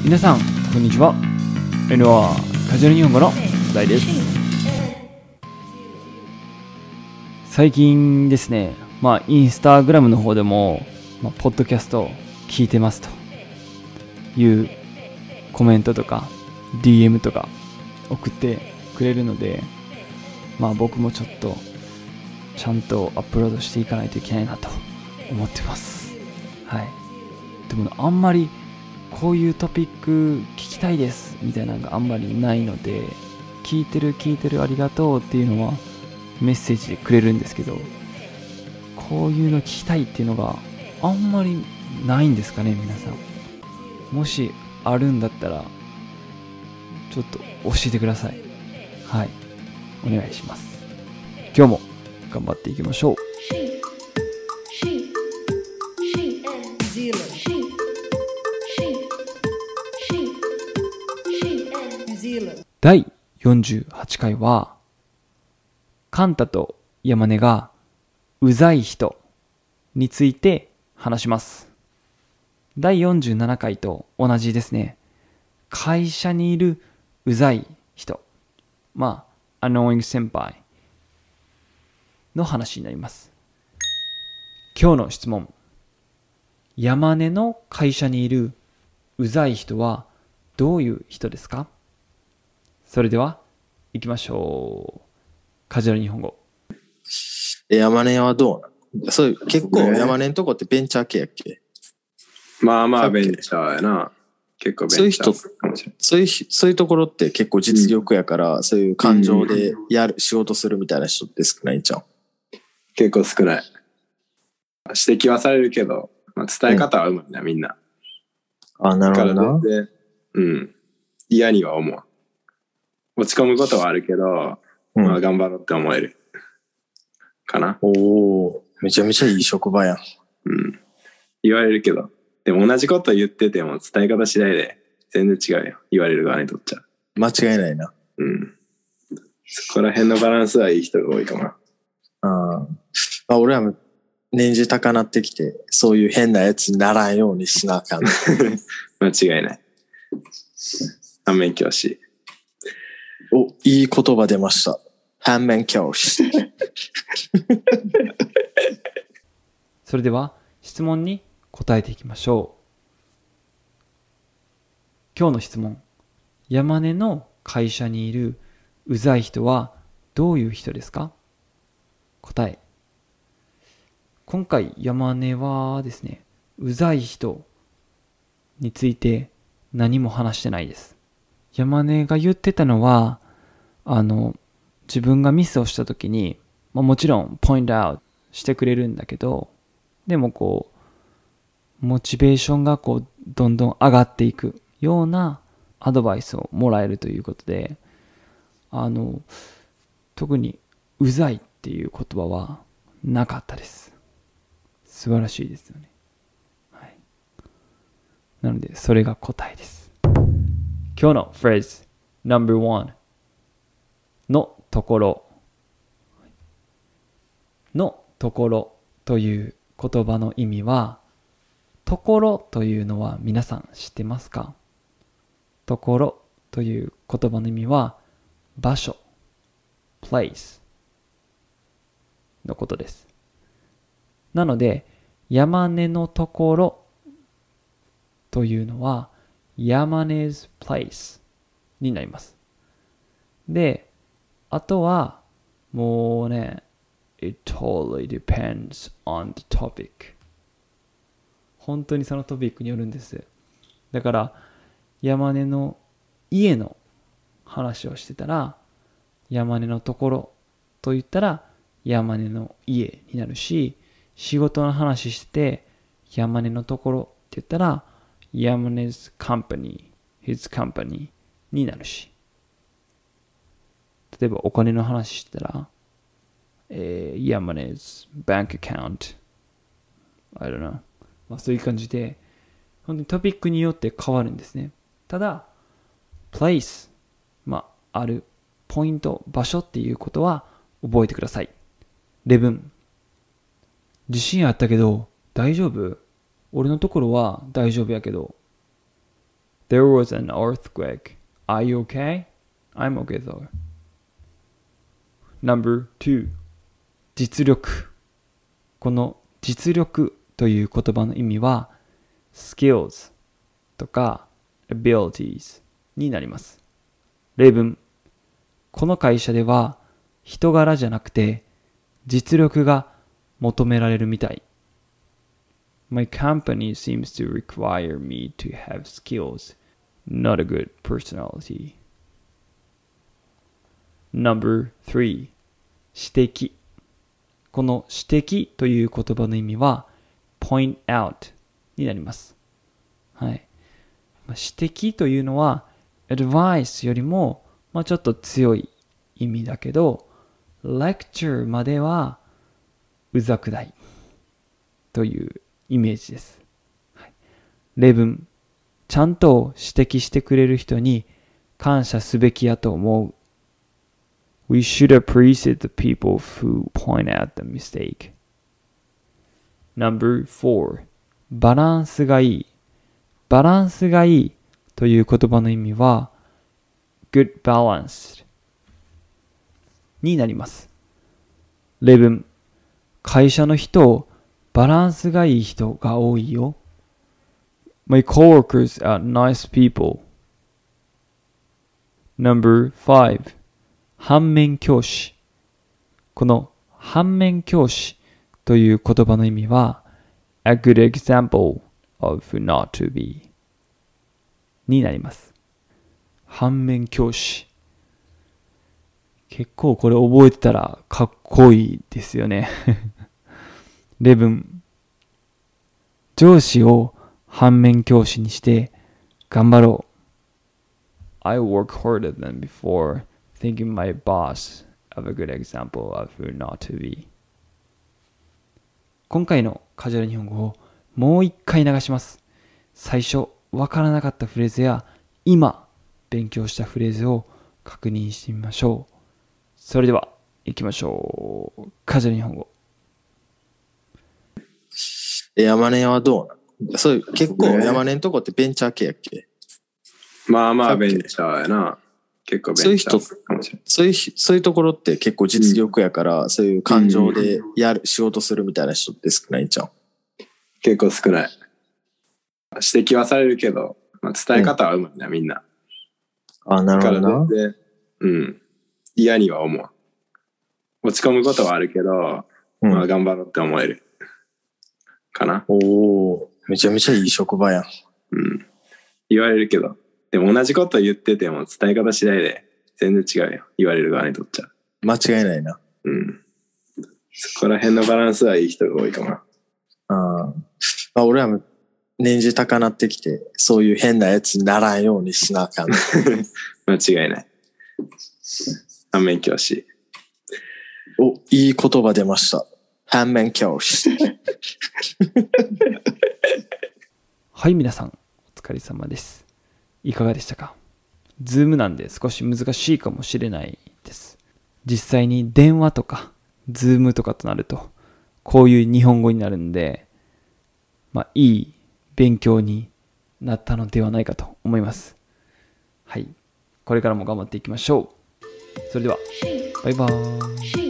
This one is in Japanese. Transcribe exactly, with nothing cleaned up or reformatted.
皆さんこんにちは。 エヌアール カジュアル日本語の大です。最近ですね、まあインスタグラムの方でも、まあ、ポッドキャスト聞いてますというコメントとか ディーエム とか送ってくれるので、まあ僕もちょっとちゃんとアップロードしていかないといけないなと思ってます。はい。でもあんまりこういうトピック聞きたいですみたいなのがあんまりないので、聞いてる聞いてるありがとうっていうのはメッセージでくれるんですけど、こういうの聞きたいっていうのがあんまりないんですかね。皆さんもしあるんだったらちょっと教えてください。はい、お願いします。今日も頑張っていきましょう。だいよんじゅうはちかいはカンタとヤマネがうざい人について話します。だいよんじゅうななかいと同じですね。会社にいるうざい人、まあ annoying 先輩の話になります。今日の質問、ヤマネの会社にいるうざい人はどういう人ですか？それでは行きましょう。カジュアル日本語。 山根はどうなの？そういう結構山根のとこってベンチャー系やっけ？ まあまあベンチャーやな。結構ベンチャー。 そういう人、そういうそういうところって結構実力やから、うん、そういう感情でやる、うん、仕事するみたいな人って少ないんちゃう？ 結構少ない。指摘はされるけど、まあ、伝え方はうまいな、うん、みんな。 あ、なるほどな。 だから全然、うん、嫌には思う。落ち込むことはあるけど、うん、まあ頑張ろうって思えるかな。 おお、めちゃめちゃいい職場やん。 うん。言われるけど、でも同じこと言ってても伝え方次第で全然違うよ。言われる側にとっちゃ。 間違いないな。 うん。そこら辺のバランスはいい人が多いかな。 ああ、俺は年次高なってきて、そういう変なやつにならんようにしなあかん。 間違いない。反面教師。 お、いい言葉出ました。反面教師。 それでは質問に答えていきましょう。今日の質問、山根の会社にいるうざい人はどういう人ですか？答え。今回山根はですね、うざい人について何も話してないです。山根が言ってたのは、あの自分がミスをした時に、まあ、もちろんポイントアウトしてくれるんだけど、でもこうモチベーションがこうどんどん上がっていくようなアドバイスをもらえるということで、あの特にうざいっていう言葉はなかったです。素晴らしいですよね。はい。なのでそれが答えです。今日のフレーズ ナンバーワン のところのところという言葉の意味は、ところというのは皆さん知ってますか？ところという言葉の意味は場所 place のことです。なので山根のところというのは山根 's place になります。で、あとはもうね、It totally depends on the topic。 本当にそのトピックによるんです。だから山根の家の話をしてたら、山根のところと言ったら山根の家になるし、仕事の話してて山根のところって言ったら山根 's company his company になるし、例えばお金の話してたら、えー、山根 's bank account I don't know、まあ、そういう感じで本当にトピックによって変わるんですね。ただ place、まあ、あるポイント、場所っていうことは覚えてください。レブン、地震あったけど大丈夫？俺のところは大丈夫やけど There was an earthquake. Are you okay? I'm okay though. Number two. 実力。この実力という言葉の意味は skills とか abilities になります。例文。この会社では人柄じゃなくて実力が求められるみたい。My company seems to require me to have skills, not a good personality. Number three. 指摘。この指摘という言葉の意味は point out になります。はい。指摘というのは advice よりも、まあ、ちょっと強い意味だけど、lecture まではうざくないというイメージです。はい、例文。ちゃんと指摘してくれる人に感謝すべきやと思う。We should appreciate the people who point out the mistake. Number four. バランスがいい。バランスがいいという言葉の意味は good balanced になります。例文。会社の人、バランスがいい人が多いよ。My coworkers are nice people. Number five. 反面教師。この反面教師という言葉の意味は a good example of not to be になります。反面教師。結構これ覚えてたらかっこいいですよね。例文。上司を反面教師にして頑張ろう。I work harder than before, thinking my boss of a good example of who not to be. 今回のカジュアル日本語をもう一回流します。最初わからなかったフレーズや今勉強したフレーズを確認してみましょう。それでは行きましょう。カジュアル日本語。 山根はどうなの？そういう結構山根のとこってベンチャー系やっけ？ まあまあベンチャーやな。結構ベンチャーかもしれない。 そういう人、そういうところって結構実力やから、うん、そういう感情でやる、うん、仕事するみたいな人って少ないんちゃう？ 結構少ない。指摘はされるけど、まあ、伝え方はうまいな、うん、みんな。 あ、なるほどな。 で、うん。嫌には思う。落ち込むことはあるけど、うん、まあ頑張ろうって思える。かな。 おお、めちゃめちゃいい職場やん。 うん。言われるけど、でも同じこと言ってても伝え方次第で全然違うよ。言われる側にとっちゃ。 間違いないな。 うん。そこら辺のバランスはいい人が多いかな。 ああ。俺は年次高なってきて、そういう変なやつにならんようにしなあかん。 間違いない。反面教師。 お、いい言葉出ました。反面教師。 はい、皆さん、お疲れ様です。いかがでしたか？ズームなんで少し難しいかもしれないです。実際に電話とか、ズームとかとなると、こういう日本語になるんで、まあ、いい勉強になったのではないかと思います。はい。これからも頑張っていきましょう。それでは、バイバーイ。